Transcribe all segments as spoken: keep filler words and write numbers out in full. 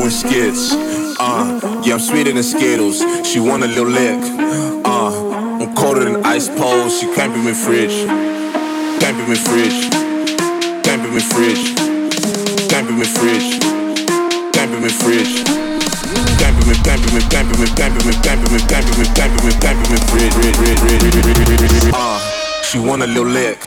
than skits. Uh, yeah, I'm sweeter than Skittles. She want a little lick. Uh, I'm colder than ice poles. She can't be my fridge. Can't be my fridge. Can't be my fridge. Can't be my fridge. Can't be my fridge. Can't be me, can't be me, can't be me, can't be me, can't be me, can't be me, can't be me, can't be me, fridge, fridge, fridge, fridge, fridge. Uh, she want a little lick.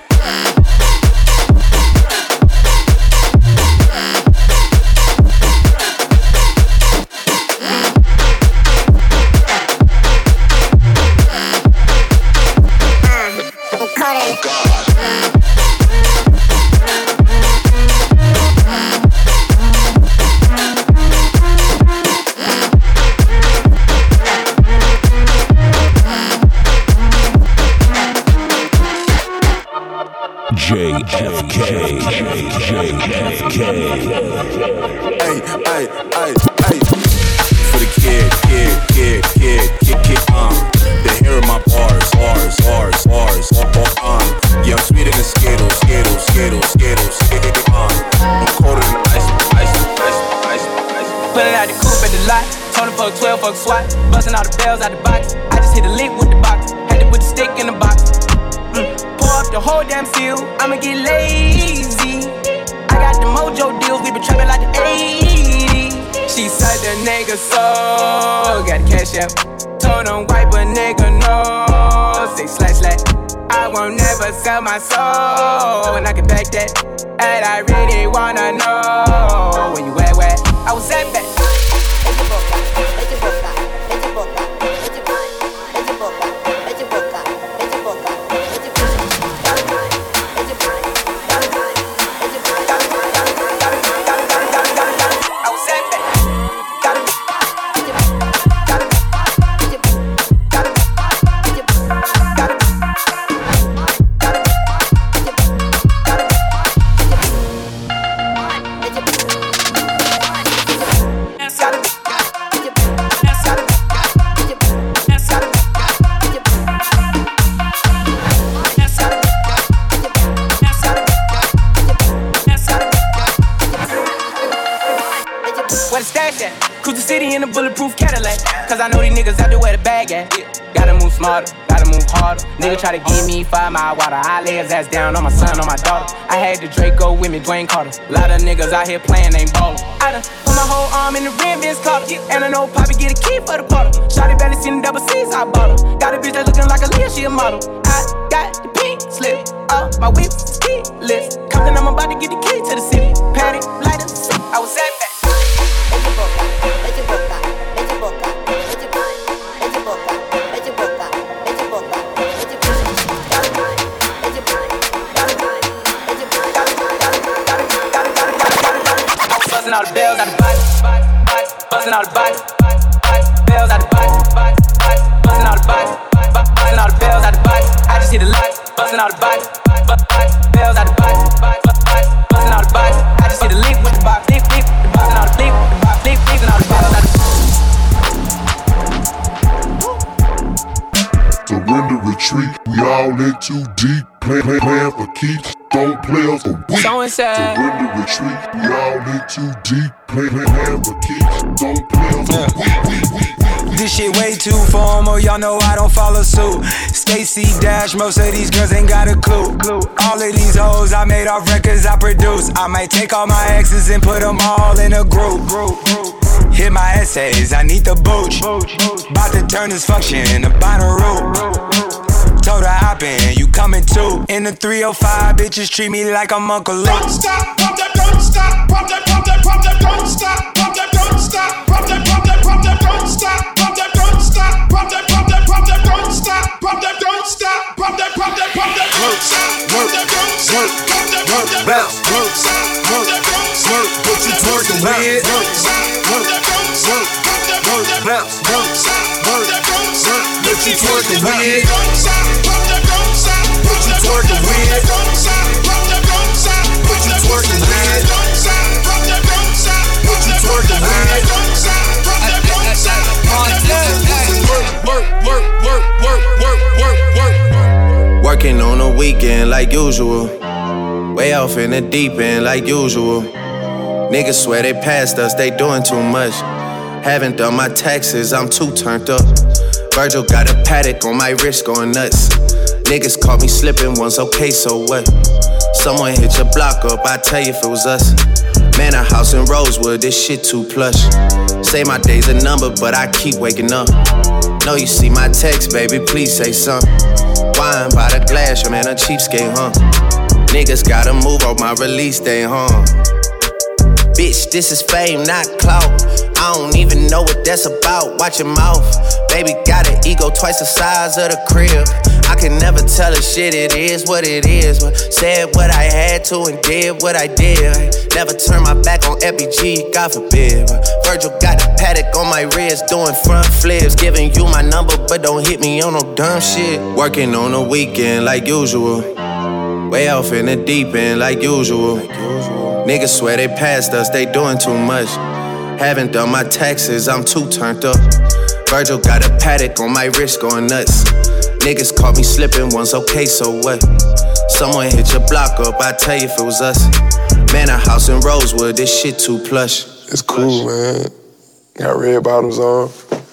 J F K, J F K. Hey, hey, hey, hey. For the kid, kid, kid, kid, kid, kid, uh. They hearing my bars, bars, bars, bars, uh. Yeah, I'm sweeter than Skittles, Skittles, Skittles, Skittles, Skittles, uh. I'm colder than ice, ice, ice, ice, ice. Pulling out the coupe at the lot. Told him fuck twelve, fuck SWAT. Busting all the bells out the box. I just hit a lick with the box. Had to put the stick in the box. Mm. Pour up the whole damn seal. I'ma get lazy. I got the mojo deals. We been trapping like the eighties. She said the nigga so got the cash out. Told him wipe a nigga no. Say slash slash. I won't never sell my soul. And I can back that. And I really wanna know when you at where I was at back. Bulletproof Cadillac, cause I know these niggas out there where the bag at. Yeah. Gotta move smarter, gotta move harder. Nigga try to give me five mile water. I lay his ass down on my son, on my daughter. I had the Draco with me, Dwayne Carter. Lot of niggas out here playing, ain't ballin'. I done put my whole arm in the rim, Vince Carter. And I know Poppy get a key for the bottle. Shawty barely seen the double C's, I bought her. Got a bitch that looking like a Leah, she a model. I got the pink slip, uh, my whip is keyless. Compton, I'm about to get the key to the city. Patty, lighter, I was at that. Bustin' all the bells out the box, bustin' all the box, bells out the box, bustin' all the box, bustin' all the bells out the box. I just hit the lock, bustin' all the box, bells out the box, bustin' all the box. I just hit the link with the box, link, link, bustin' all the link with the box, link, link, and all the bells out the box. Surrender, retreat, we all in too deep. Plan, plan, plan for keeps, don't play us for weak. So inside. Surrender, retreat, we all in too deep. Plan, plan, plan for keeps, don't play us for weak, weak, weak, weak. This shit way too formal, y'all know I don't follow suit. Stacy Dash, most of these girls ain't got a clue. All of these hoes I made off records I produce. I might take all my exes and put them all in a group. Hit my essays, I need the booch. About to turn this function into Bonnaroo. Told her hop in, you coming too. In the three oh five, bitches treat me like I'm Uncle Luke. Don't stop, pump that, don't stop, pump that, pump that, pump that, don't stop, pump that, don't stop, pump that, pump that, pump that, don't stop, pump that, don't stop, pump that, pump that, pump that, don't stop, pump that, don't stop, pump that, pump that, pump that, don't stop, pump that, don't stop, pump that, pump that, bounce, don't stop, pump that, don't stop, what you twerking with? Don't stop, pump that, don't stop, pump that, pump that, bounce, don't stop, pump that, don't stop, what you twerking with? Don't stop, pump that, don't stop, what you twerking with? Don't stop, pump that, don't stop, what you twerking with? Don't stop, pump that, don't stop, what you twerking with? Don't stop, pump that, don't stop, pump that, work, work, work, work, work, work, work, work. Working on a weekend like usual. Way off in the deep end like usual. Niggas swear they passed us, they doing too much. Haven't done my taxes, I'm too turned up. Virgil got a paddock on my wrist going nuts. Niggas caught me slipping once, okay, so what? Someone hit your block up, I tell you if it was us. Man, a house in Rosewood, this shit too plush. Say my day's a number, but I keep waking up. Know you see my text, baby, please say something. Wine by the glass, your man a cheapskate, huh? Niggas gotta move on my release day, huh? Bitch, this is fame, not clout. I don't even know what that's about. Watch your mouth. Baby got an ego twice the size of the crib. I can never tell a shit, it is what it is. But said what I had to and did what I did. Never turn my back on F B G, God forbid. But Virgil got the paddock on my wrist, doing front flips. Giving you my number, but don't hit me on no dumb shit. Working on the weekend like usual. Way off in the deep end like usual. Niggas swear they passed us, they doing too much. Haven't done my taxes, I'm too turned up. Virgil got a paddock on my wrist going nuts. Niggas caught me slipping once, okay, so what? Someone hit your block up, I tell you if it was us. Man, a house in Rosewood, this shit too plush. It's cool, man. Got red bottoms on.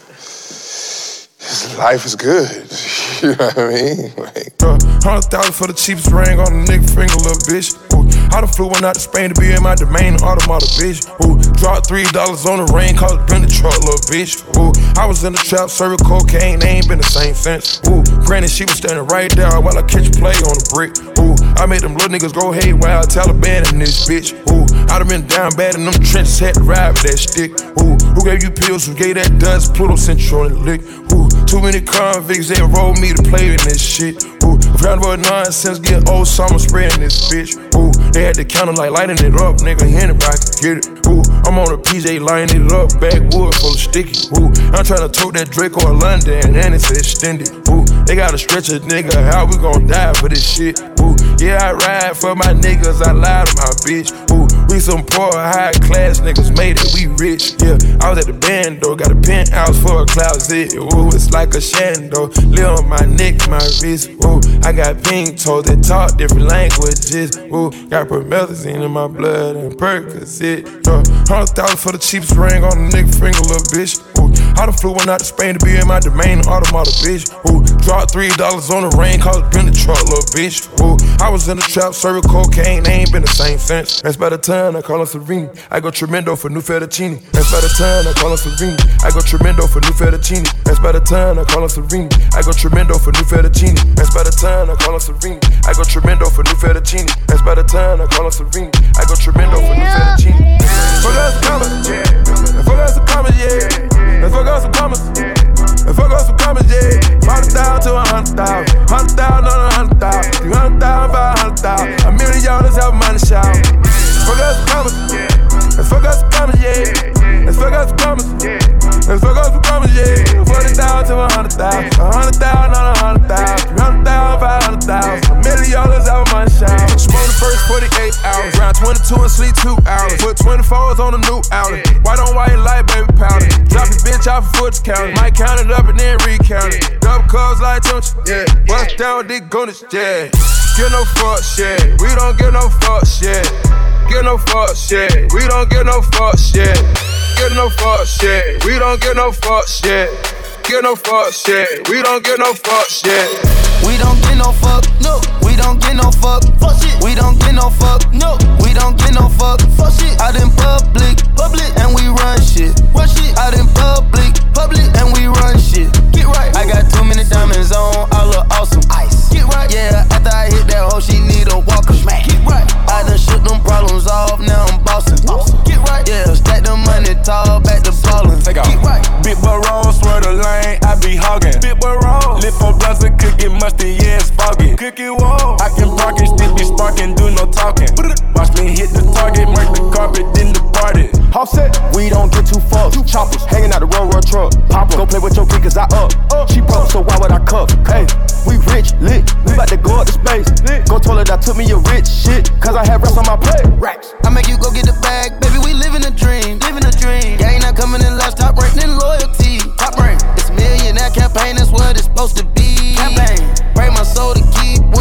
Life is good. You know what I mean? Like, uh, Hundred thousand for the cheapest ring on the nigga finger, little bitch. Ooh, I done flew one out to Spain to be in my domain, automata, bitch. Ooh, dropped three dollars on the ring, called it been the truck, little bitch. Ooh, I was in the trap, serving cocaine, they ain't been the same since. Ooh, granted, she was standing right there while I catch a play on the brick. Ooh, I made them little niggas go haywire, Taliban in this bitch. Ooh, I done been down bad in them trenches, had to ride with that stick. Ooh, who gave you pills, who gave that dust? Pluto sent you on the lick. Ooh, too many convicts, they enrolled me to play in this shit. Ooh, forgot about nonsense, get old summer spreading this bitch. Ooh, they had the counter like lighting it up, nigga, anybody can get it. Ooh, I'm on a P J lining it up, backwood full of sticky. Ooh, I'm tryna tote that Draco or London, and it's extended. Ooh, they gotta stretch a nigga, how we gon' die for this shit? Ooh, yeah, I ride for my niggas, I lie to my bitch. Ooh, we some poor, high class niggas made it, we rich. Yeah, I was at the band though, got a penthouse for a closet. Ooh, it's like a shando, live on my neck, my wrist. Ooh, I got pink toes that talk different languages. Ooh, got promethazine in my blood and Percocet. Uh, Hundred thousand for the cheapest ring on the nigga finger, little bitch. Ooh, I done flew one out to Spain to be in my domain, automata, bitch. Ooh, dropped three dollars on the ring, called it been the truck, little bitch. Ooh, I was in the trap, serving cocaine, they ain't been the same since. That's by the time I call her Serene. I go tremendo for new fettuccine. That's by the time I call her Serene. I go tremendo for new fettuccine. That's by the time I call her Serene. I go tremendo for new fettuccine. That's by the time I call her Serene. I go tremendo for new fettuccine. That's by the time I call her Serene. I go tremendo for new fettuccine. Fuck us some commas, yeah. Fuck us some commas, yeah. Fuck us some commas. Fuck us some commas, yeah. Hundred thousand to a hundred thousand. Hundred thousand on a hundred thousand. Three hundred thousand, five hundred thousand. A million dollars have money shout. Fuck us some commas, yeah. Fuck us some commas, yeah. Fuck us some commas, yeah. Fuck us some commas, yeah. Forty thousand to a hundred thousand. A hundred thousand on a hundred thousand. Three hundred thousand, five hundred thousand. A million dollars have money shout. Smoke the first forty-eight hours. Round twenty-two and sleep two hours. Put twenty-fours on the new outlet. White on white light, baby powder. Drop your bitch off a foot counter. Might count it up and then recount it. Double cubs like Tunch, yeah. Bust down, dick Gunners, yeah. Get no fuck shit. We don't get no fuck shit. Get no fuck shit. We don't get no fuck shit. Get no fuck shit. We don't get no fuck shit. Get no fuck shit. We don't get no fuck shit. We don't get no fuck, no. We don't get no fuck, fuck shit. We don't get no fuck, no. We don't get no fuck, fuck shit. Out in public, public, and we run shit, run shit. Out in public, public, and we run shit. Get right. I got too many diamonds on, I look awesome. Ice. Get right. Yeah, after I hit that hoe, she need a walker. Smack. Get right. I done shook them problems off, now I'm bossing. Get right. Yeah, stack the money tall, back to ballin'. Take off. Get right. Big boy roll, swear the lane, I be hogging. Big boy roll, lip for brother, cookie musty, yeah, it's foggy. Cookie wall, I can park it, still be sparking, do no talking. Watch me hit the target, mark the carpet, then depart it. Offset, we don't get too fucked. Choppers hanging out the road, road truck. Pop go play with your kid, cause I up. She broke, so why would I cuff? Hey, we rich, lit. We bout to go up to space. Go told her that took me a rich shit, cause I had racks on my plate. Racks. I make you go get the bag, baby, we living a dream. Living a dream. Gang not coming in last, top rank, then loyalty. Top rank. It's millionaire campaign, that's what it's supposed to be. Campaign. Break my soul to keep when I go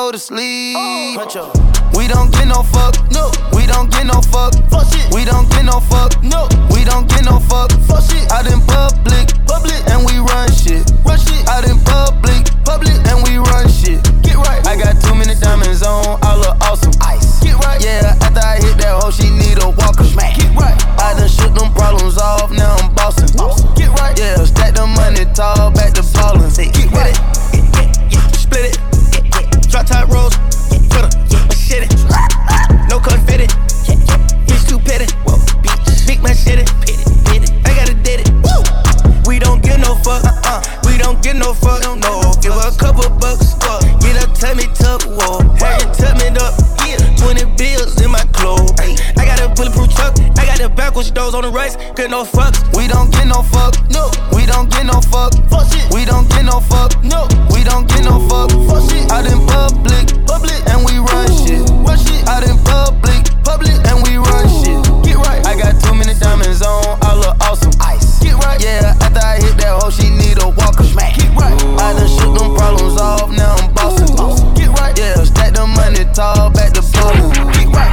go to sleep. Oh. We don't get no fuck, no. We don't get no fuck, fuck shit. We don't get no fuck, no. We don't get no fuck, fuck shit. Out in public, public, and we run shit, run shit. Out in public, public, and we run shit. Get right. I got too many diamonds on, I look awesome. Ice. Get right. Yeah, after I hit that hoe, she need a walker. Smack. Get right. I done shook them problems off, now I'm bossing. Awesome. Get right. Yeah, stack the money tall, back to ballin'. Get right. Yeah, yeah, yeah. Split it. Yeah, yeah. Drop top rolls. Put a machete. No confetti. Yeah, yeah. He's too petty. Whoa, bitch. Big machete. Pity, pity. I gotta did it. Woo. We don't give no fuck. Uh-uh. We don't give no fuck. No. Give her a couple bucks. Uh. Get her tummy tuck. Whoa. Have it tuck me up. Yeah. twenty bills in my clothes. Ay. I got a bulletproof truck. I got the backwards doors on the rights. Get no fucks. We don't get no fuck. No. We don't get no fuck. Fuck shit. We don't get no fuck. No. We don't get no fuck. Fuck shit. Out in public. Public. And we run shit. Run shit. Out in public. Public. And we run shit. Get right. I got too many diamonds on. I look awesome. Ice. Get right. Yeah. After I hit that hoe, she need a walker. Smack. Get right. I done shook them problems off. Now I'm bossing. Get right. Yeah. Stack the money tall. Back to ballin'. Get right.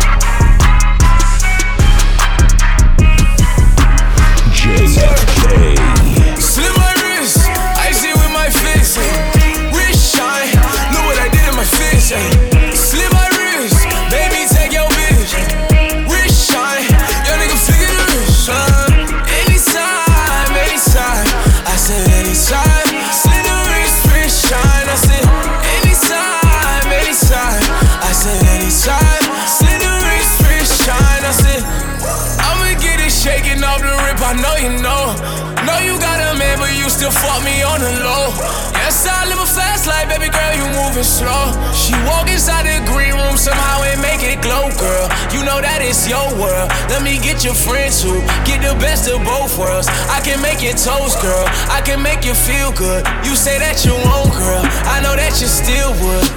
J F K. Slim my wrist, icy with my fist. Wrist shine, look what I did in my fist. Slim my wrist, baby take your bitch. Wrist shine, your nigga figure the wrist shine. Anytime, anytime, I said anytime. Slim the wrist, wrist shine. I said anytime, anytime, I said anytime. Slim the wrist, wrist shine. I said I'ma get it shaking off the rip. I know you know. Know you got a man, but you still fuck me on the low. Yes, I live a fast life, baby girl, you moving slow. She walk inside the green room, somehow it make it glow, girl. You know that it's your world. Let me get your friends who get the best of both worlds. I can make your toes, girl. I can make you feel good. You say that you won't, girl. I know that you still would.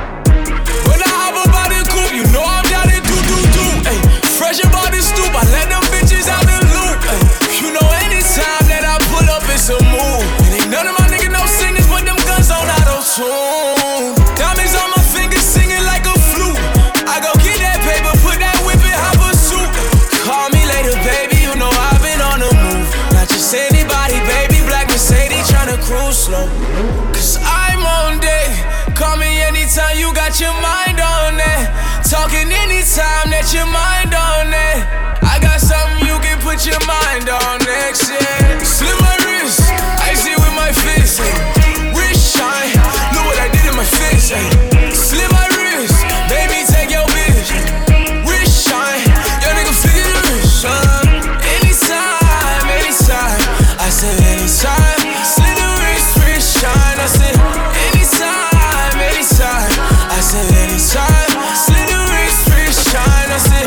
When I hop up out the coupe, you know I'm down to do, do, do. Ay, fresh about the stoop, I let them bitches out the loop. Ay, you know anytime that I pull up, it's a move. And ain't none of my niggas no singers, but them guns on auto-tune. Diamonds on my fingers, singing like a flute. I go get that paper, put that whip in hop a suit. Call me later, baby, you know I've been on the move. Not just anybody, baby, black Mercedes tryna cruise slow. Cause I'm on deck. Call me anytime you got your mind on that. Talking anytime that your mind on that. I got something you can put your mind on next, yeah. Slim my wrist, icy with my fist. Wrist shine, look what I did in my fist. Slim my wrist, baby take your bitch. Wrist shine, your nigga figure the wrist shine. Anytime, anytime, I said anytime. Slim the wrist, wrist shine. I said anytime, anytime, I said anytime. Slim the wrist, wrist shine. I said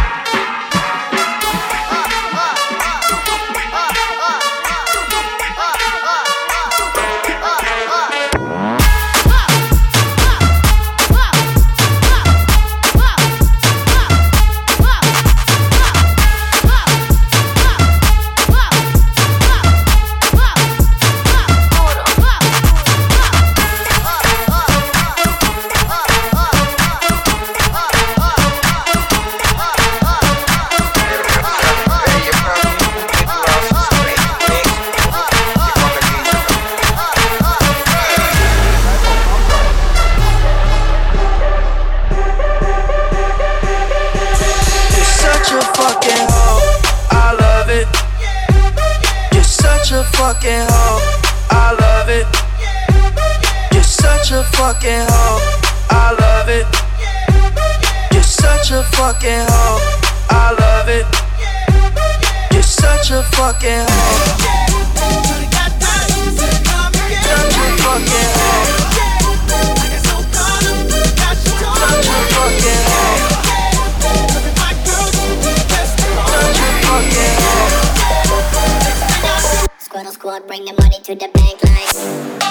fucking hoe, I love it. You're such a fucking hoe, I love it. You're such a fucking hoe, I love it. You're such a fucking hoe. Such a fucking hoe. Such a fucking hoe. Such a fucking hoe. Squad squad, bring the money to the bank line.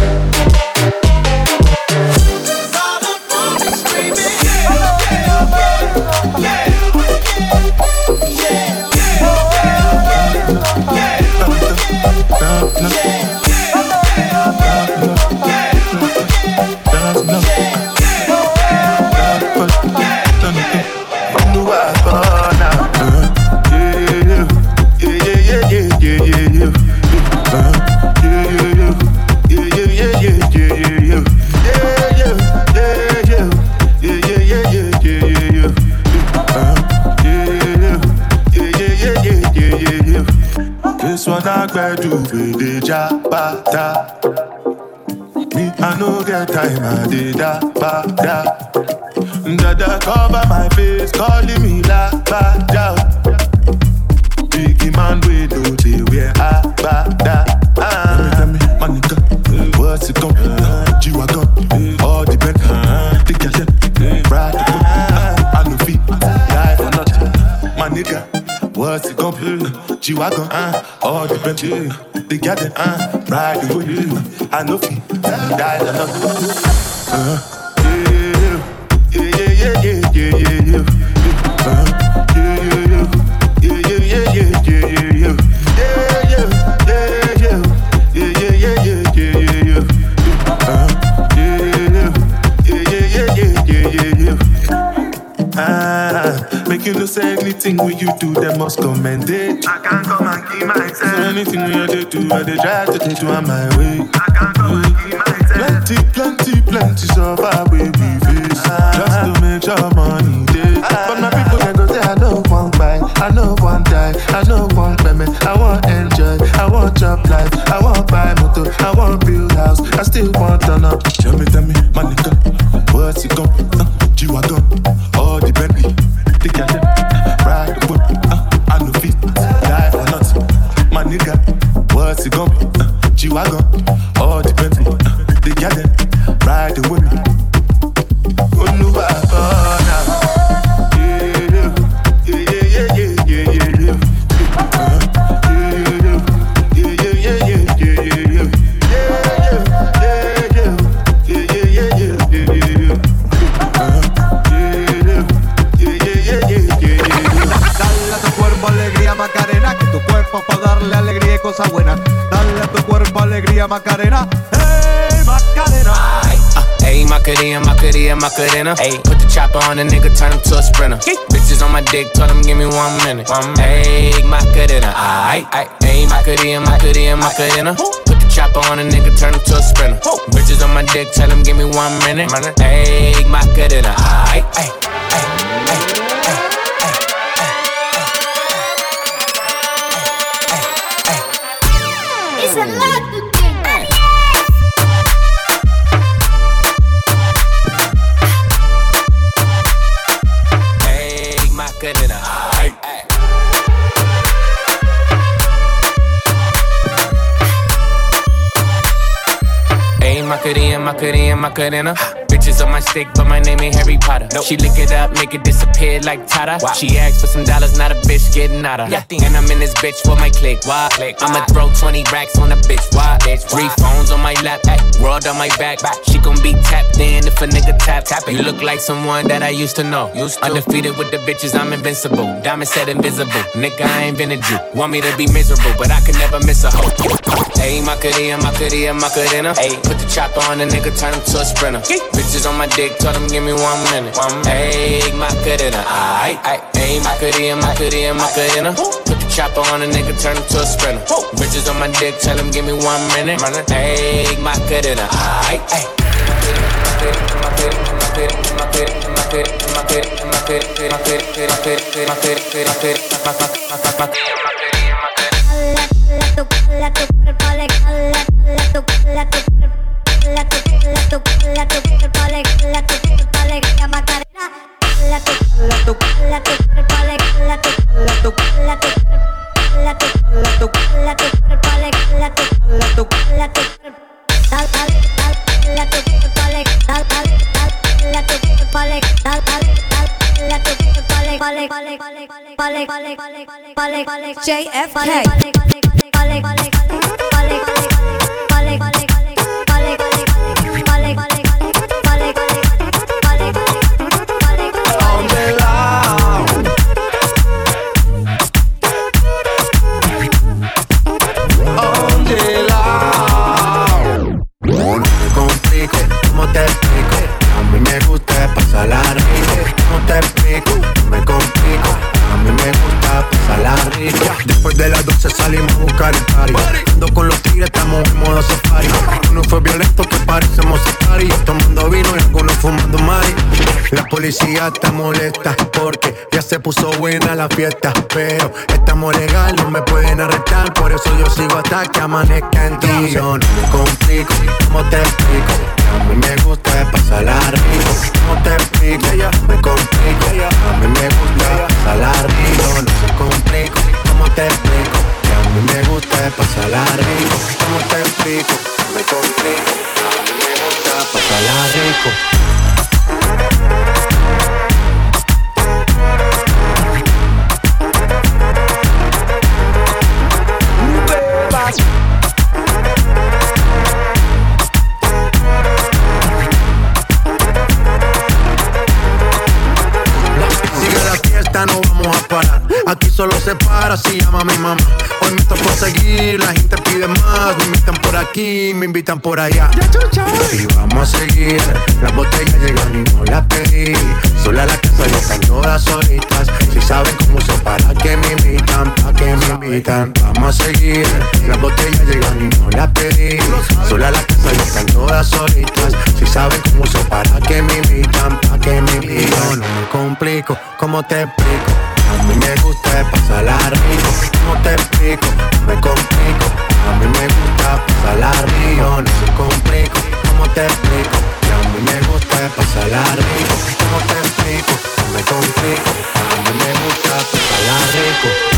Yeah, yeah. bedu with the jabata. Me, I no get time, I did da ba da. Dada cover my face, calling me la ba da. Biggie man, we do the wear a ba da. Tell me, tell me, my nigga, what's it gon' be? G-Wagon, all the bend, the gal, ride the whip. I no feet, die for nothing. My nigga, what's it gon' be? G-Wagon, all the bend, the gal, ride the whip. I no feet, die for nothing. Uh-huh. Yeah, yeah, yeah, yeah, yeah, yeah. Uh, yeah, yeah, yeah, yeah, yeah, yeah, yeah, yeah, yeah. Yeah, yeah, yeah, yeah, yeah, yeah, yeah, yeah. Uh, yeah, yeah, yeah, yeah, yeah, yeah, yeah. Ah, make you no say anything when you do, they must commend it. I can't come and keep myself. So anything when you do, I they try to take you on my way. I can't come and keep myself. Plenty, plenty, plenty so far we be face. Just to make sure money day. But my people can go say I don't want buy, I don't want die, I don't want payment, I want enjoy, I want job life, I want buy motor, I want build house, I still want turn up. Tell me, tell me, my nigga, what's it gon' uh, G-Wagon, all the Bentley, the gal, ride the whip, uh, I no fit, die for nothing. My nigga, what's it gon' be? Uh, G-Wagon, all the Bentley, uh, the gal, ride the whip. Macarena, que tu cuerpo para darle alegría y cosas buenas. Dale a tu cuerpo alegría, Macarena. Hey, Macarena. Hey, Macarena, Macarena, Macarena. Hey, put the chopper on the nigga, turn him to a sprinter. Bitches on my dick, told him give me one minute. Hey, Macarena. Aight, aight. Hey, Macarena, Macarena, Macarena. Put the chopper on the nigga, turn him to a sprinter. Bitches on my dick, tell him give me one minute. Hey, Macarena. Aight, aight. It's a lot to think. Hey, Macarena. Hey, hey. Hey, Macarena, Macarena, Macarena. Bitches on my stick, but my name ain't Harry Potter. Nope. She lick it up, make it disappear like Tata. Wow. She asked for some dollars, not a bitch getting out of. Yeah. And I'm in this bitch for my click. Why? Click. I'ma throw twenty racks on a bitch. Why? Bitch. Three phones on my lap, ay. World on my back. back. She gon' be tapped in if a nigga tap. tap it. You look like someone that I used to know. Used to. Undefeated with the bitches, I'm invincible. Diamond said invisible. Nigga, I ain't been a Jew. Want me to be miserable, but I can never miss a hoe. Hey, Macarena, Macarena, Macarena. Hey, put the chopper on the nigga, turn him to a sprinter. Bitches on my dick, told him give me one minute. Hey, Macarena, aight, aight. Hey, Macarena, Macarena, Macarena. Put the chopper on a nigga, turn him to a sprinter. Bitches on my dick, tell him give me one minute. Hey, Macarena, aight, aight. J F K. Después de las doce salimos a buscar el party. policía está molesta porque ya se puso buena la fiesta. Pero estamos legal, no me pueden arrestar. Por eso yo sigo hasta que amanezca en ti. Yo no me complico, ¿cómo te explico? A mí me gusta pasarla rico. ¿Cómo te explico? Me complico. A mí me gusta pasarla rico. No se complico, ¿cómo te explico? A mí me gusta pasarla rico. ¿Cómo te explico? Me complico. A mí me gusta pasarla rico. No vamos a parar, aquí solo se para si llama mi mamá. Hoy me tocó seguir, la gente pide más. Me invitan por aquí, me invitan por allá. Y vamos a seguir, las botellas llegan y no las pedí. Sola la casa y están todas solitas. Si saben cómo uso para que me invitan, pa' que me invitan. Vamos a seguir, las botellas llegan y no las pedí. Sola la casa y están todas solitas. Si saben cómo uso para que me invitan, pa' que me invitan. No me complico, ¿cómo te explico? A mí me gusta pasarla rico. ¿Cómo te explico? Me complico. A mí me gusta pasarla rico. No se complico. ¿Cómo te explico? A mí me gusta pasarla rico. ¿Cómo te explico? Me complico. A mí me gusta pasarla rico.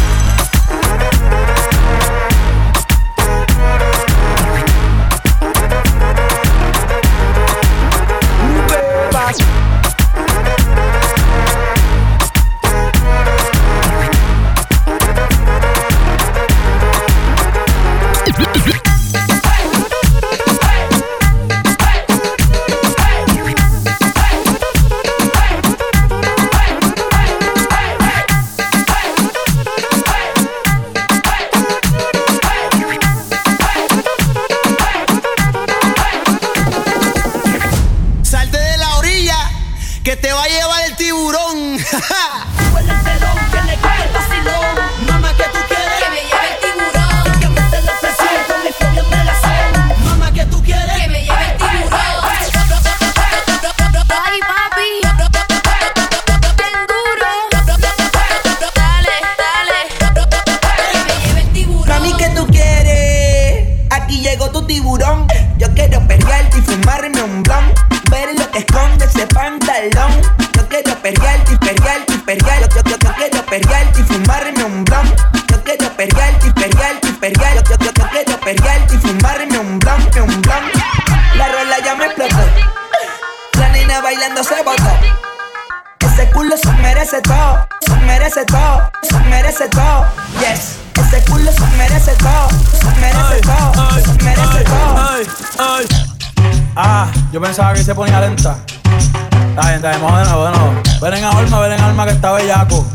Yo pensaba que se ponía lenta. Está bien, está bien, vamos de nuevo, de nuevo. Ven en alma, ven en alma que está bellaco.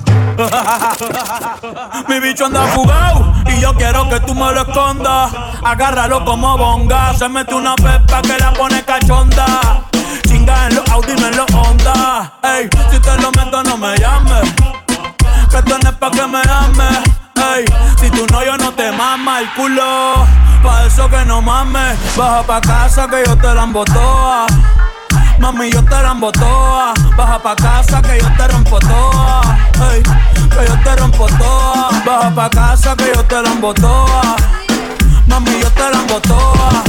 Mi bicho anda fugado y yo quiero que tú me lo escondas. Agárralo como bonga. Se mete una pepa que la pone cachonda. Chinga en los Audi, no en los Honda. Ey, si te lo meto no me llames, que tú no es pa' que me ames. Ey, si tú no, yo no te mama el culo. Pa' eso que no mames. Baja pa' casa que yo te la embotoa. Mami, yo te la embotoa. Baja pa' casa que yo te rompo toa. Ey, que yo te rompo toa. Baja pa' casa que yo te la embotoa. Mami, yo te la embotoa.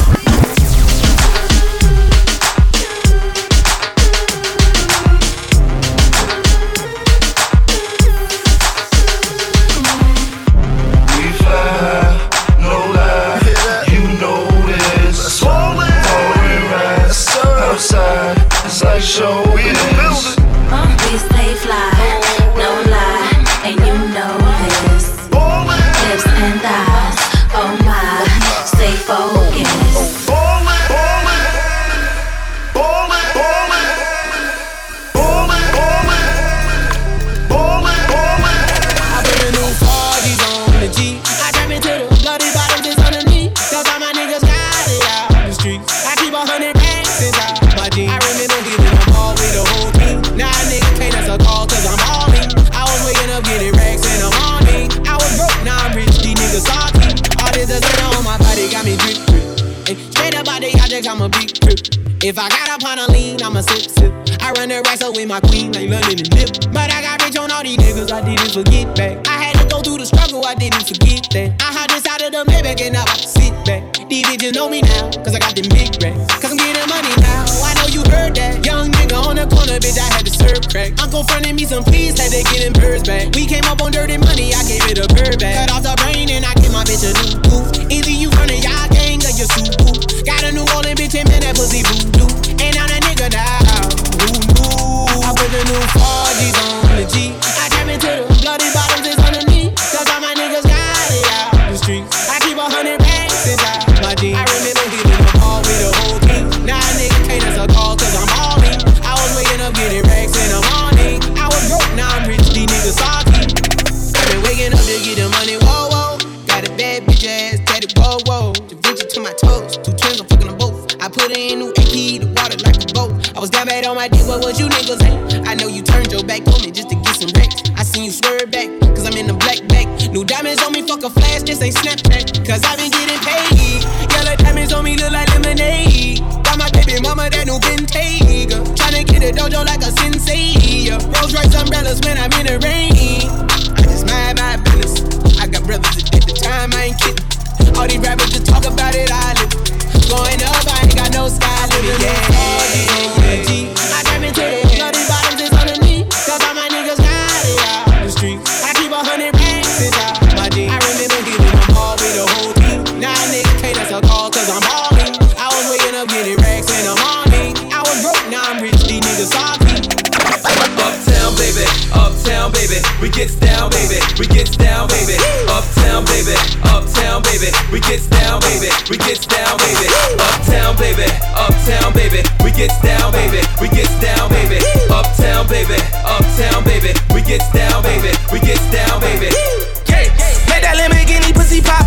It's like show business. We stay fly, no lie, and you know this. Lips and thighs, oh my, stay focused. Ballin', ballin', ballin', ballin', ballin', ballin', ballin', ballin'. I put a new forties on the G. I jump into the bloody bottom just underneath. Cause all my niggas got it out the streets. I keep a hundred racks inside my jeans. I remember getting a ball with the whole team. Now a nigga can't answer a call cause I'm balling. I was waking up getting racks in the morning. I was broke, now I'm rich, these niggas salty. All this designer on my body got me drip, drip. Ay, straight up out the object, I'm a big trip. If I got up on a lean, I'm a sip, sip. I run the the racks up with my queen like London and Nip. But I got rich on all these niggas, I didn't forget back. I had to go through the struggle, I didn't forget that. I hopped inside of the Maybach and now I can sit back. These bitches know me now, cause I got them big racks. Cause I'm getting money now, I know you heard that. Young nigga on the corner, bitch, I had to serve crack. Uncle fronted me some please, had to get them birds back. We came up on dirty money, I gave it a bird back. Cut off the brain and I gave my bitch a new goof. Either you frontin' y'all gang or you super. Got a New Orleans bitch and man, that pussy voodoo. And I'm that nigga now, who knew? I put the new four G's on the G. I tap into the bloody bottoms, it's underneath. Cause all my niggas got it out the streets. I keep a hundred racks inside my jeans. I remember hitting the ball with the whole team. Now a nigga can't answer a call cause I'm balling. I was waking up getting racks in the morning. I was broke, now I'm rich, these niggas salty. I been waking up to get the money, whoa, whoa. Got a bad bitch ass, daddy, whoa, whoa. Da Vinci to my toes, two twins, I'm fucking them both. I put her in new A P, the water like a boat. I was down bad on my dick, what was you niggas at? I know you turned your back on me just to get some wrecks. I seen you swerve back, cause I'm in the black back. New diamonds on me, fuck a flash, this ain't Snapchat. Cause I been getting paid. Yellow diamonds on me look like lemonade. Got my baby mama that new Bentayga. Tryna get a dojo like a sensei. Rolls Royce umbrellas when I'm in the rain. I just mind my business. I got brothers at the time, I ain't kidding. All these rappers just talk about it, I live. Going up, I ain't got no sky limit, yeah, yeah, yeah. I tap into the bloody bottoms, it's underneath. Cause all my niggas got it out the streets. I keep a hundred racks inside my jeans. I remember hitting the ball with the whole team. Now a nigga can't answer a call cause I'm balling. I was waking up getting racks in the morning. I was broke, now I'm rich, these niggas salty. Uptown, baby, uptown, baby, we gets down, baby, we gets down, baby. Uptown, baby, uptown, baby, we gets down, baby, we gets down, baby. Uptown, baby, uptown, baby, we gets down, baby, we gets down, baby. Uptown, baby, uptown, baby, we gets down, baby, we gets down, baby. Yeah, make that Lamborghini pussy pop.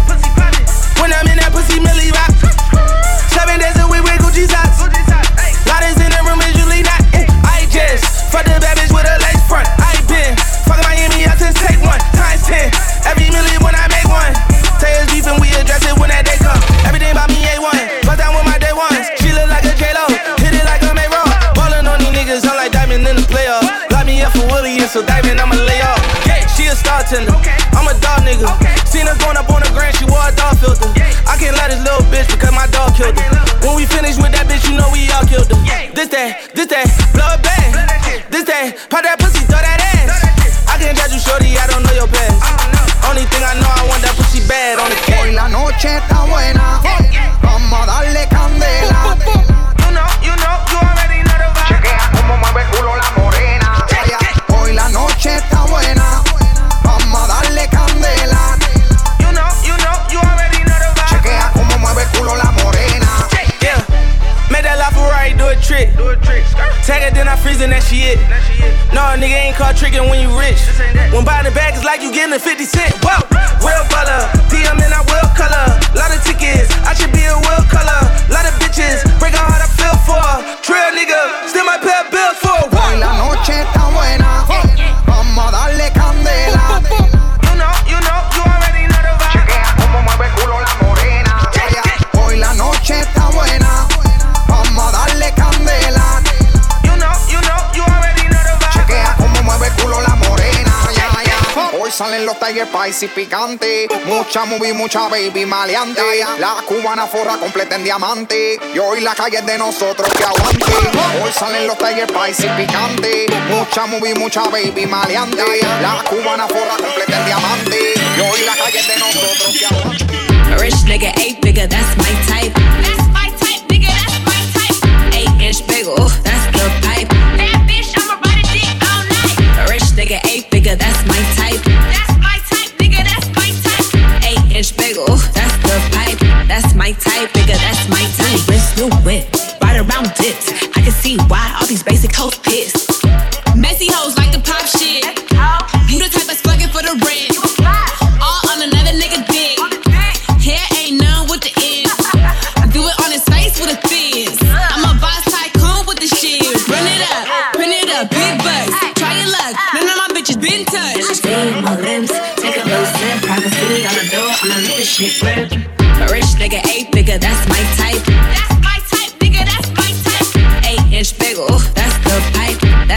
When I'm in that pussy, Millie rock. Seven days a week with Gucci socks. Loudest in the room is usually not. I just fuck the bad bitch with a lace front. I been fucking Miami out since take one times ten. Every million when I make one. Say it's beef and we address it when that day come. Everything about me A one. Bust down with my day ones. She look like a J-Lo. Hit it like a May-Ro. Ballin' on these niggas, I'm like Diamond in the playoff. Lock me up for Willie and so Diamond I'ma lay off. Yeah, she a star tender. I'm a dog nigga. Seen her going up on the grand, she wore a dog filter. I can't let this little bitch because my dog killed her. When we finish with that bitch, you know we all killed her. This that, this that, blow it bang. This that, pop that pussy, throw that ass. I can't judge you, shorty, I don't know your past. Only thing I know, I want that pussy bad on the cat. Hoy la noche está buena, vamos a darle candela. You know, you know, you already know the vibe. Chequea como mueve el culo la morena. Hoy la noche está buena, vamos a darle candela. You know, you know, you already know the vibe. Chequea como mueve el culo la morena. Yeah, make that LaFerrari do a trick. Do a trick. Tag it, then I freeze and that she it. No, nigga ain't called trickin' when you rich. When buying the bag, it's like you getting a fifty cent. Whoa, real color, D M and I will color. Lot of tickets, I should be a will color. Lot of bitches, break her heart I feel for. Trail nigga, still my pay a bill for. Hoy la noche está buena, vamos a darle candela. You know, you know, you already know the vibe. Chequea como mueve el culo la morena. Hoy la noche está buena, vamos a darle candela. You know, you know, you already know the vibe. Chequea como mueve el culo la morena. Hoy salen los Tiger Spicy picantes. Mucha movie, mucha baby maleante. La cubana forra completa en diamante. Y hoy la calle es de nosotros que aguante. Hoy salen los Tiger Spicy picantes. Mucha movie, mucha baby maleante. La cubana forra completa en diamante. Y hoy la calle es de nosotros que aguante. A rich nigga, eight figure, that's my type. That's my type, nigga, that's my type. Eight inch bagel, that's the pipe. Bad bitch, I'ma ride a dick all night. A rich nigga, eight figure, that's my type. That's my type, nigga, that's my type. Eight inch bagel, that's the pipe. That's my type, nigga, that's my type. Wrist, new whip, right around dips. I can see why all these basic hoes pissed. Messy hoes like to pop shit. You the type that's fucking for the rent. All on another nigga dick. Hair ain't none with the ends. Do it on his face with a fizz. I'm a boss tycoon with the shit. Run it up, print it up, big bucks. Try your luck, none of my bitches been touched. Stay in my limbs, take a little sip. Privacy on the door, I'ma let this shit rip. A rich nigga, eight figure, that's my type. That's my type, nigga, that's my type. Eight inch bagel, that's the pipe.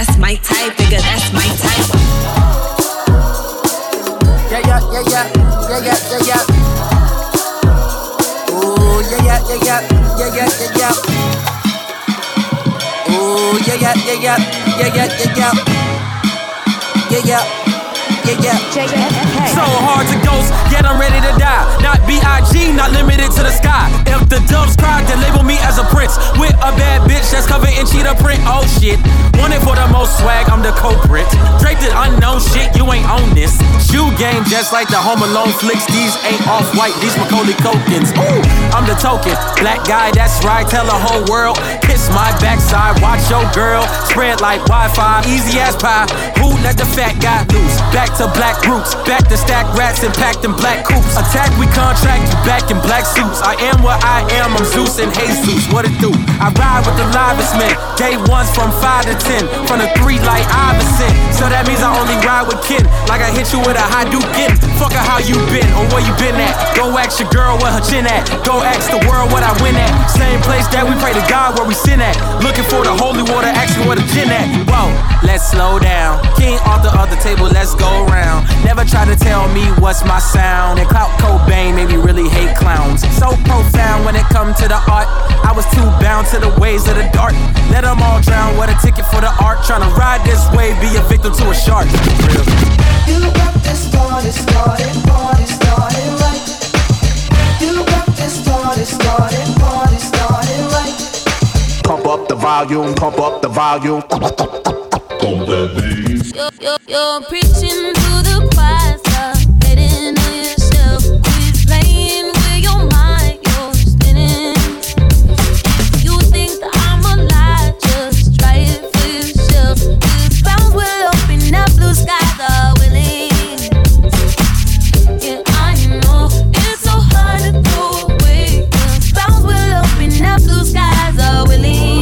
yeah, yeah, yeah, yeah, yeah, yeah, yeah. Yeah, yeah. So hard to ghost, yet I'm ready to die. Not B I G, not limited to the sky. If the doves cry, then label me as a prince. With a bad bitch that's covered in cheetah print. Oh shit, wanted for the most swag, I'm the culprit. Draped in unknown shit, you ain't on this. Shoe game just like the Home Alone flicks. These ain't off-white, these Macaulay Culkins. Ooh, I'm the token, black guy, that's right. Tell the whole world, kiss my backside. Watch your girl, spread like Wi-Fi. Easy as pie, who let the fat guy loose? Back to black roots, back to stack rats and packed in black coops. Attack, we contract, you back in black suits. I am what I am, I'm Zeus and Jesus. What it do? I ride with the livest men. Day ones from five to ten, from the three like Iverson. So that means I only ride with kin. Like I hit you with a high duke in. Fuck her how you been or where you been at. Go ask your girl where her chin at. Go ask the world what I win at. Same place that we pray to God where we sin at. Looking for the holy water, asking where the gin at. Whoa, let's slow down. King off the other table, let's go round. Never try to tell me what's my sound. And Clout Cobain made me really hate clowns. So profound when it come to the art. I was too bound to the ways of the dark. Let them all drown, what a ticket for the art. Tryna ride this wave, be a victim to a shark. Real. You got this party started, party started right. You got this party started, party started right. Pump up the volume, pump up the volume. Pump that bass. You're, you're, you're preaching to the choir, stop hating on yourself. Quit playing with your mind, you're spinning. You think that I'm alive, just try it for yourself. The clouds will open up, blue skies are willing. Yeah, I know it's so hard to go away. The clouds will open up, blue skies are willing.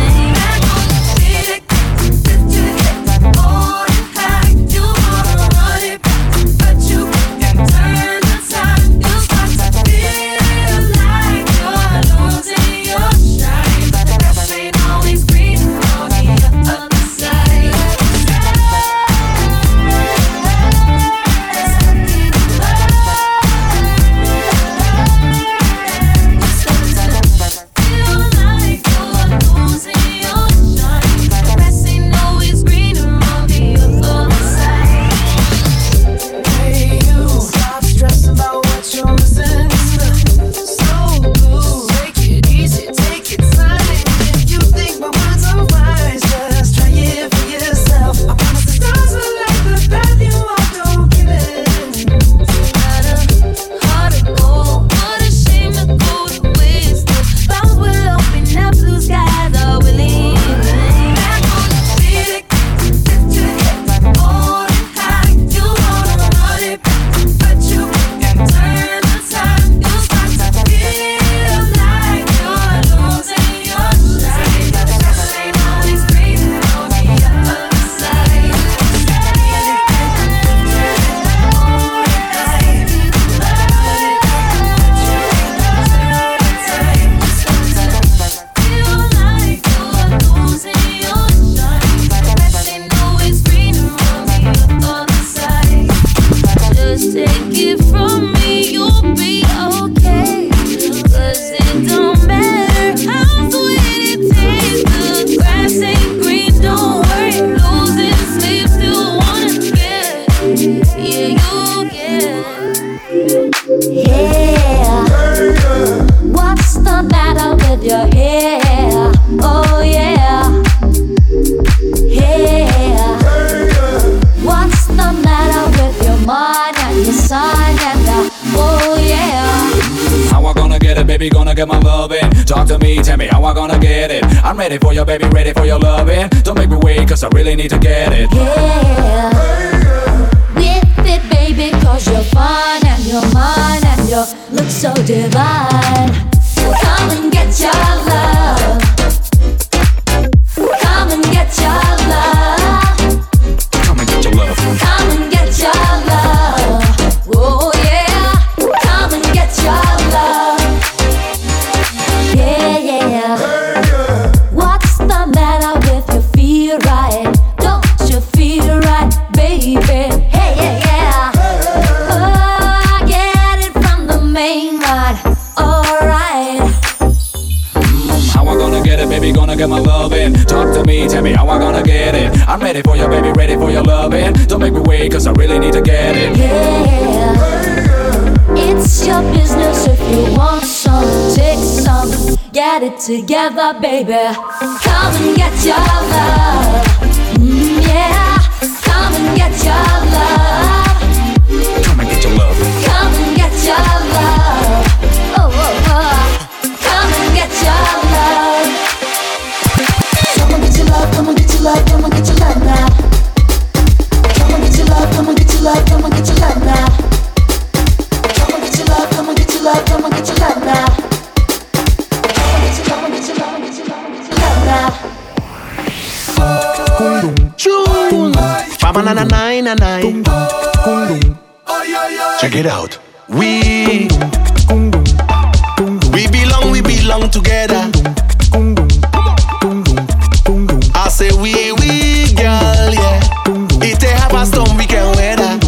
Ready for your baby, ready for your loving. Don't make me wait, cause I really need to get it. Yeah, with it, baby, cause you're fine and you're mine and you look so divine. Come and get your love. Come and get your love. Come and get your love. Come and get your love. Oh yeah, come and get your love. Yeah, yeah. What's the matter with you? Feel right? Don't you feel right? I'm ready for you, baby, ready for your loving. Don't make me wait, cause I really need to get it. Yeah, it's your business. If you want some, take some. Get it together, baby. Come and get your love. Mm, yeah, come and get your love. Come and get your love. Come and get your love. Oh, oh, oh. Come and get your love. Come and get your love, come and get your love, come and get your love now. Come and get your love, come and get your love, come and get your love now. Come and get your love, come and get your love, come and get your love now. Come and get your love, come and get your love, come and get your love, come and get your love now. Check it out. We We belong, we belong together. I say we, we, girl, yeah. If they have a storm, we can weather.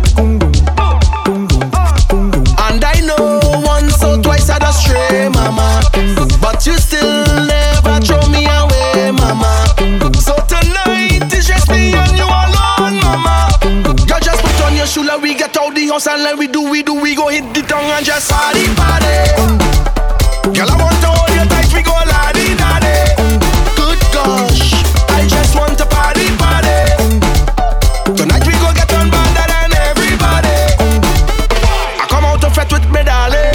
And I know once or twice I just stray, mama. But you still never throw me away, mama. So tonight it's just me and you alone, mama. Girl, just put on your shoe like we get out the house and like we do, we do, we go hit the tongue and just party, party. Girl, I want to hold you tight, we go la-di-da-di. Good gosh, I just want to party, party. Tonight we go get on better than everybody. I come out to fret with me, darling.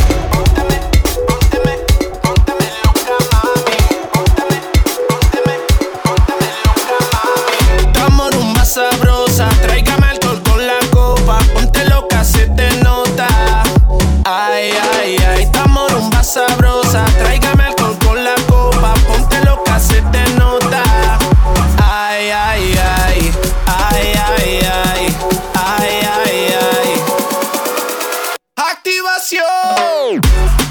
Estamos rumba sabrosa, tráigame alcohol con la copa, ponte loca, se te nota. Ay, ay, ay, estamos rumba sabrosa, tráigame alcohol con la copa, ponte loca, se te nota. Ay, ay, ay, ay, ay, ay, ay, ay, ay. Activación.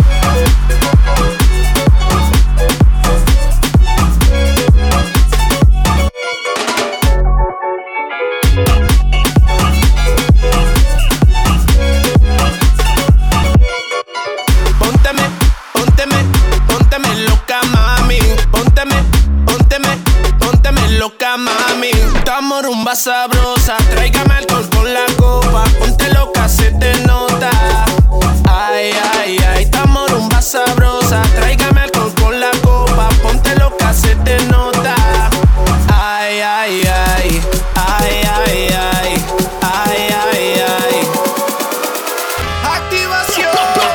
Pónteme, pónteme, pónteme loca, mami. Pónteme, pónteme, pónteme loca, mami. Estamos rumba sabrosa, tráigame alcohol con la copa, ponte loca, se te nota. Ay, ay, ay, estamos rumba sabrosa, tráigame alcohol con la copa, ponte loca, se te nota. Ay, ay, ay, ay, ay, ay, ay, ay, ay. Activación.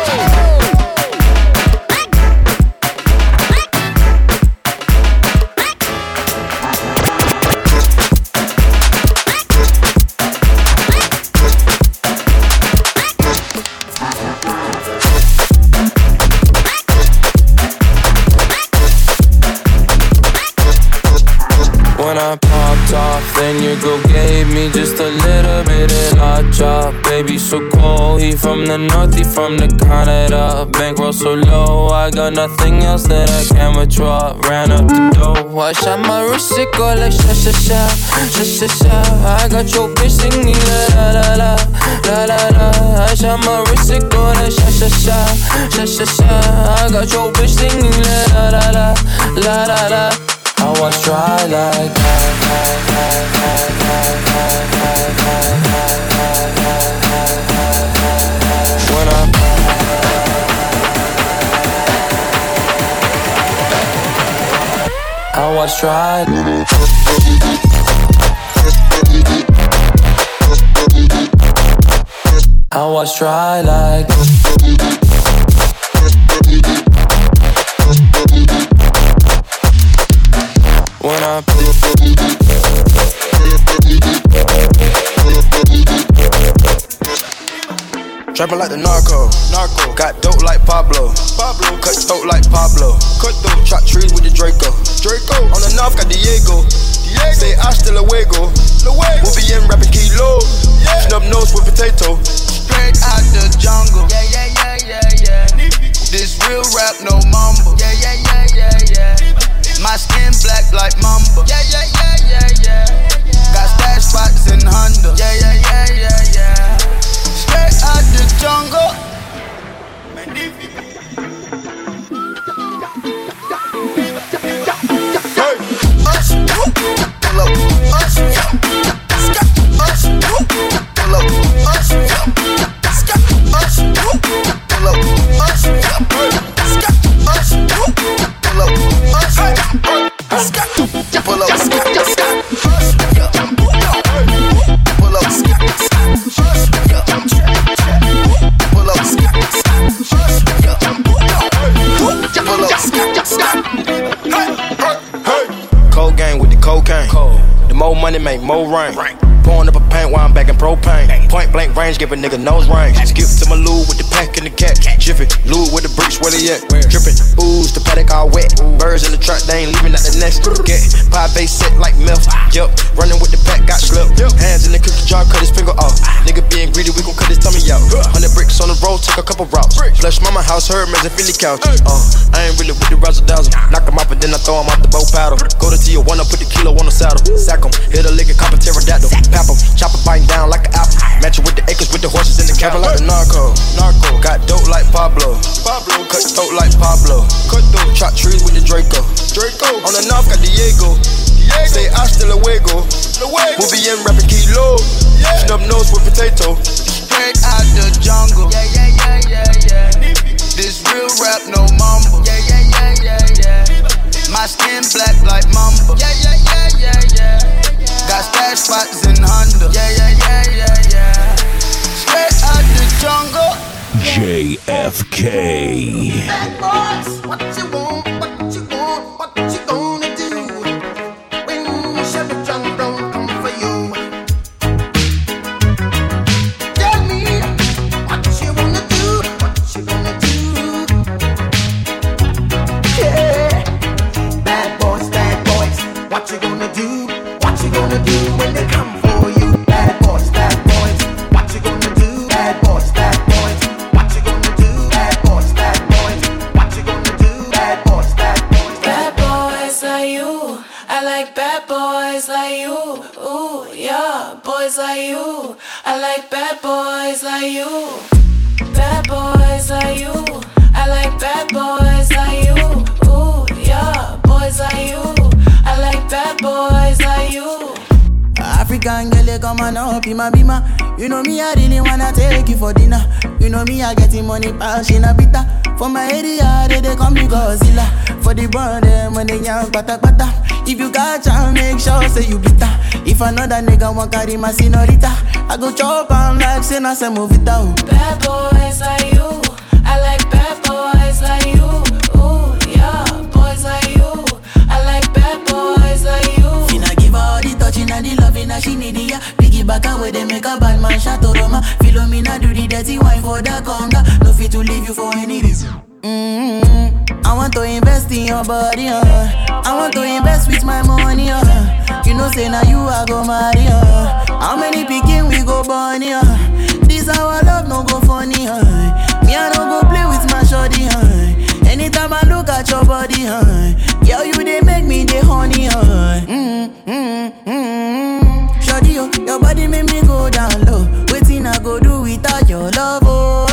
When I popped off, then your girl gave me just a little bit of hot chop. Baby, so cold, he from the north, he from the Canada. Bankroll so low, I got nothing else that I can withdraw. Ran up the dough, I shot my wrist, it go like sha sha sha, sha sha sha. I got your bitch singing la la la la la la. I shot my wrist, it go like sha sha sha, sha sha sha. I got your bitch singing la la la la la la. I was dry like when I I was dry. I was dry like when I Trapping like the narco, narco. Got dope like Pablo, Pablo. Cut throat like Pablo, cut throat. Chop trees with the Draco, Draco. On the north got Diego, Diego. Say hasta luego, luego. We'll be in rapping kilo, yeah. Snub nose with potato. Straight out the jungle, yeah, yeah, yeah, yeah, yeah. This real rap, no mumble, yeah, yeah, yeah, yeah, yeah. My skin black like mamba, yeah, yeah, yeah, yeah, yeah. Got stash spots in Honda, yeah, yeah, yeah, yeah, yeah. Straight out the jungle. Hey, us, pull up, us, more rain. Pouring up a paint while I'm back in propane. Point blank range, give a nigga nose range. Skip to my loo with the pack and the cat. Jiffy, loo with the bricks, where they at? Drippin', ooze, the paddock all wet. Birds in the truck, they ain't leaving out the nest. Get pie base set like milk. Yup, running with the pack, got slipped. Hands in the cookie jar, cut his finger off. Nigga being greedy, we gon' cut his tummy out. Hundred bricks on the road, took a couple routes. Flush mama house, her man's a Philly couch. Uh, I ain't really with the razzle dazzle. Knock him off and then I throw him off the bow paddle. Go to Tijuana, put the kilo on the saddle. Sack him, hit a lick and cop a pterodactyl. Pap him, chop a biting down like an apple. Match it with the acres, with the horses in the cattle. Like the narco, narco. Got dope like Pablo, Pablo. Cut throat like Pablo, cut throat. Chop trees with the Draco, Draco. On the north got Diego, Diego. Say hasta luego, luego. Movie in rapping kilo, yeah. Snub nose with potato. Straight out the jungle, yeah, yeah, yeah, yeah, yeah. This real rap, no mumble, yeah, yeah, yeah, yeah, yeah. My skin black like mamba, yeah, yeah, yeah, yeah, yeah. Got stash spots in Honda, yeah, yeah, yeah, yeah, yeah. Straight out the jungle, J F K. Bad boys, what you want, what you want, what you gonna do when Chevy John don't come for you? Tell me what you wanna do, what you gonna do? Yeah, bad boys, bad boys, what you gonna do? What you gonna do when they come for you? Bad boys, bad boys, what you gonna do? Bad boys, bad boys. What you gonna do? Bad boys, bad boys. What you gonna do? Bad boys, bad boys. Bad boys like you. I like bad boys like you. Ooh, yeah, boys like you. I like bad boys like you. Bad boys like you. I like bad boys like you. Ooh, yeah, boys like you. I like bad boys like you. African girl, you come on up in my bima. You know me, I really wanna take you for dinner. You know me, I getting money, passion a bitter. For my area, they, they call me Godzilla. For the brand, them when they young, pata pata. If you got chance, make sure say you bitter. If another nigga want carry my senorita, I go chop on like sin, I say move it out. Bad boys like you. I like bad boys like you. Ooh, yeah, boys like you. I like bad boys like you. Finna give her all the touching and the loving that she need, yeah. Piggyback away, they make a bad man shot Roma. Philomena do the dirty wine for the conga. No fit to leave you for any reason. Mm-hmm. I want to invest in your body, uh. I want to invest with my money, uh. You know say now you I go marry, uh. How many picking we go born, uh. This our love no go funny, uh. Me I don't go play with my shorty, uh. Anytime I look at your body, uh. Girl you they make me the honey, uh. Mm-hmm, mm-hmm. Shorty, yo, your body make me go down low. Waiting I go do without your love, oh.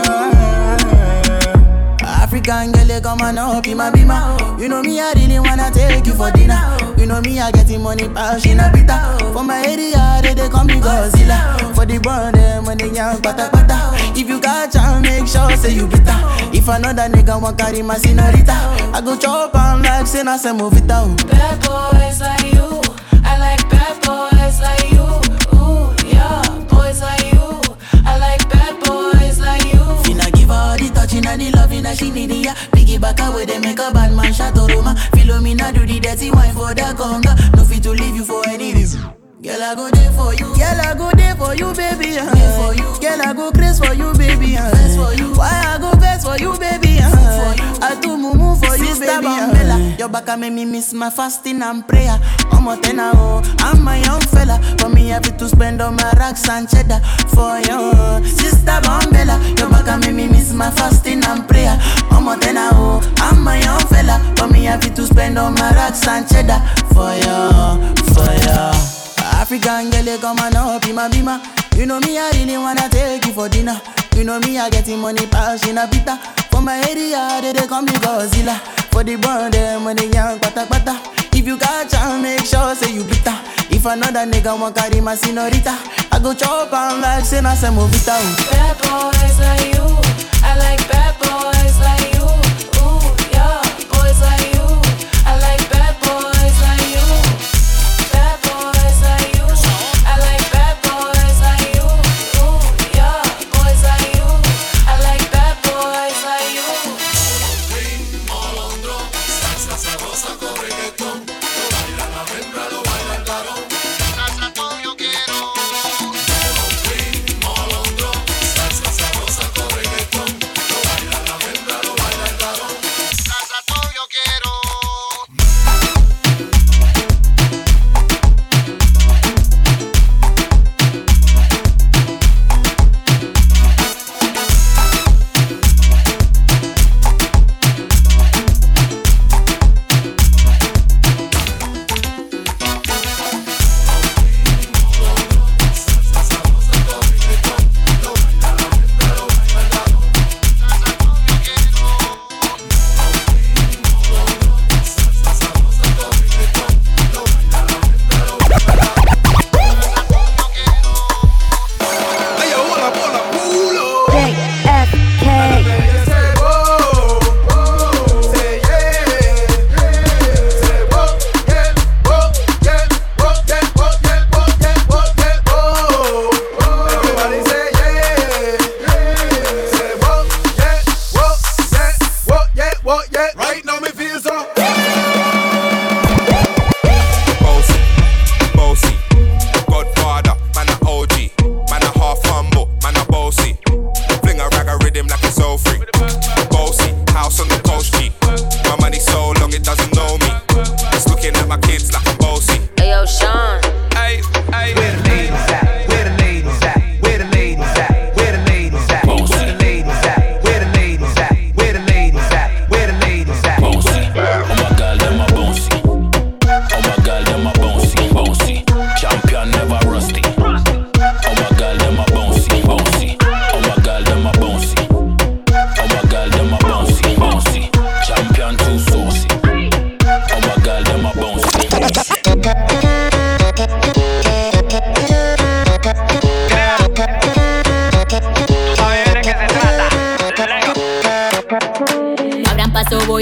African girl, you come on up in my bima. You know me, I really wanna take you for dinner. You know me, I getting money, passion a bitter. For my area, they, they call me Godzilla. For the brand, them when they young, pata pata. If you got chance, make sure say you bitter. If another nigga want carry my senorita, I go chop on like sin, I say move it out. Bad boys like you. I like bad boys like you. Ooh, yeah, boys like you. I like bad boys like you. Finna give her all the touching and the loving that she need, yeah. Piggyback away, they make a bad man shot Roma. Philomena do the dirty wine for the conga. No fit to leave you for any reason. Girl, I go there for you. Girl, I go there for you, baby. Uh. For you. Girl, I go crazy for you, baby. Uh. For you. Why I go best for you, baby? Uh. For you. I do mumu for you, Sister baby. Uh. Your back make me miss my fasting and prayer. I'm a tenor, oh, I'm my young fella. For me, I have to spend on my racks and cheddar for you, Sister Bombella. Your back make me miss my fasting and prayer. I'm a tenor, oh, I'm my young fella. For me, I have to spend on my racks and cheddar for you, for you. African girl, you come on up in my bima. You know me, I really wanna take you for dinner. You know me, I getting money, passion a bitter. For my area, they, they call me Godzilla. For the brand, them when they young, pata pata. If you got chance, make sure say you bitter. If another nigga want carry my senorita, I go chop on like sin, I say move it out. Bad boys like you. I like bad boys like you. Ooh, yeah, boys like you. I like bad boys like you. Bad boys like you. I like bad boys like you. Ooh, yeah, boys like you. I like bad boys like you. Salsa sabrosa con reggaetón, lo baila la hembra, lo baila el varón.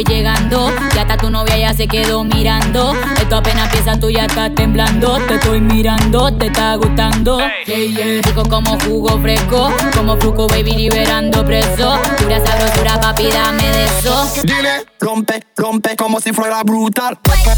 voy llegando. Ya hasta tu novia ya se quedó mirando. Esto apenas empieza, tú ya estás temblando. Te estoy mirando, te está gustando. Yeah, yeah. Rico como jugo fresco, como fruco baby liberando preso. Pura sabrosura papi, dame de eso. Dile, rompe, rompe como si fuera brutal.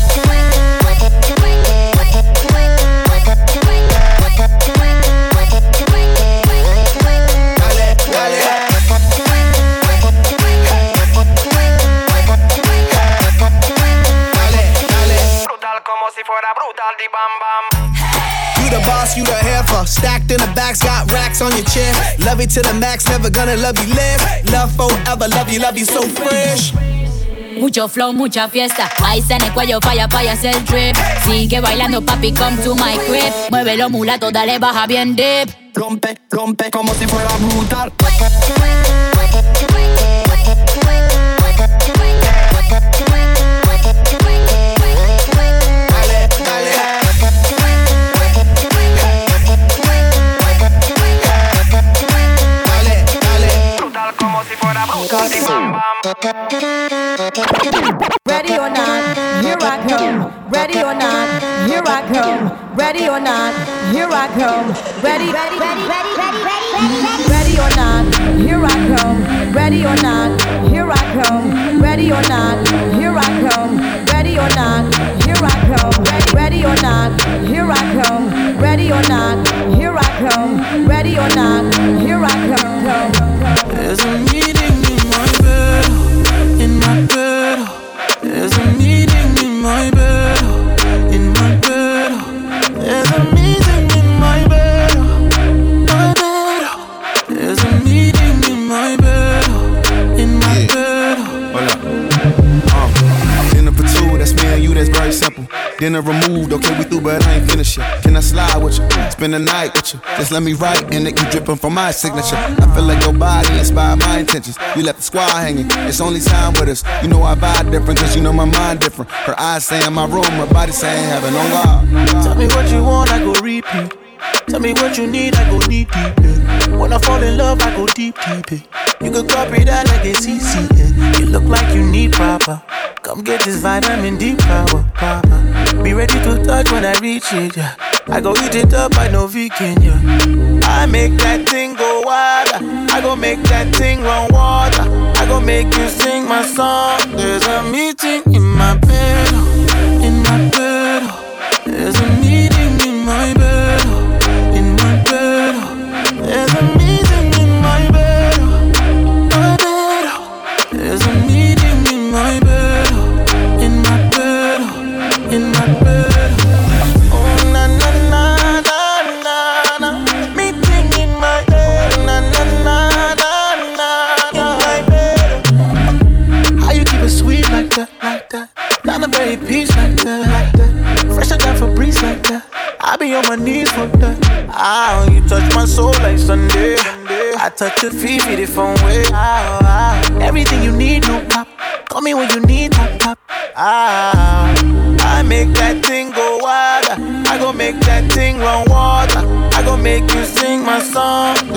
Si fuera brutal, di bam bam. You the boss, you the heifer. Stacked in the backs, got racks on your chest. Love it to the max, never gonna love you less. Love forever, love you, love you so fresh. Mucho flow, mucha fiesta. Ice en el cuello, falla, falla, hacer drip. Sigue bailando, papi, come to my crib. Muévelo, mulato, dale, baja bien dip. Rompe, rompe, como si fuera brutal. Ready or not, here I come. Ready or not, here I come. Ready or not, here I come. Ready, ready, ready, ready, ready, ready, ready. Ready or not, here I come. Ready or not, here I come. Ready or not, here I come. Ready or not, here I come. Ready or not, here I come. Ready or not, here I come. Ready or not, here I come. There's a meeting in my bed, in my bed. There's a meeting in my bed, in my bed. There's a meeting in my bed, my bed. There's a meeting in my bed, in my yeah. bed. Hold up. Uh, dinner for two, that's me and you, that's very simple. Dinner removed, okay, we through, but I ain't finished yet. Can I slide with you? Spend the night with you. Just let me write, and it keep dripping from my signature. I feel like your body inspired my intentions. You left the squad hanging, it's only time with us. You know I vibe different, cause you know my mind different. Her eyes saying my room, her body saying heaven on God. Tell me what you want, I go repeat. Tell me what you need, I go deep, deep, yeah. When I fall in love, I go deep, deep, yeah. You could copy that like it's easy, yeah. You look like you need proper. Come get this vitamin D power, proper. Be ready to touch when I reach it, yeah. I go eat it up, I know vegan, yeah. I make that thing go wild. I go make that thing run water. I go make you sing my song. There's a meeting in my bed, in my bed. There's a meeting in my bed, in my bed. There's a meeting in my bed, my bed. There's a meeting in my bed, in my bed, in my bed. Oh na na na na na na. Meeting in my bed, na na na na na. In my bed. How you keep it sweet like that, like that? Down the very peace like that, like that. Fresher than Febreze like that. I be on my knees for that. Ah, you touch my soul like Sunday. I touch your feet, feet it from way. Ah, ah. Everything you need, no pop. Call me when you need top, top. Ah, I make that thing go wild. I go make that thing run water. I go make you sing my song.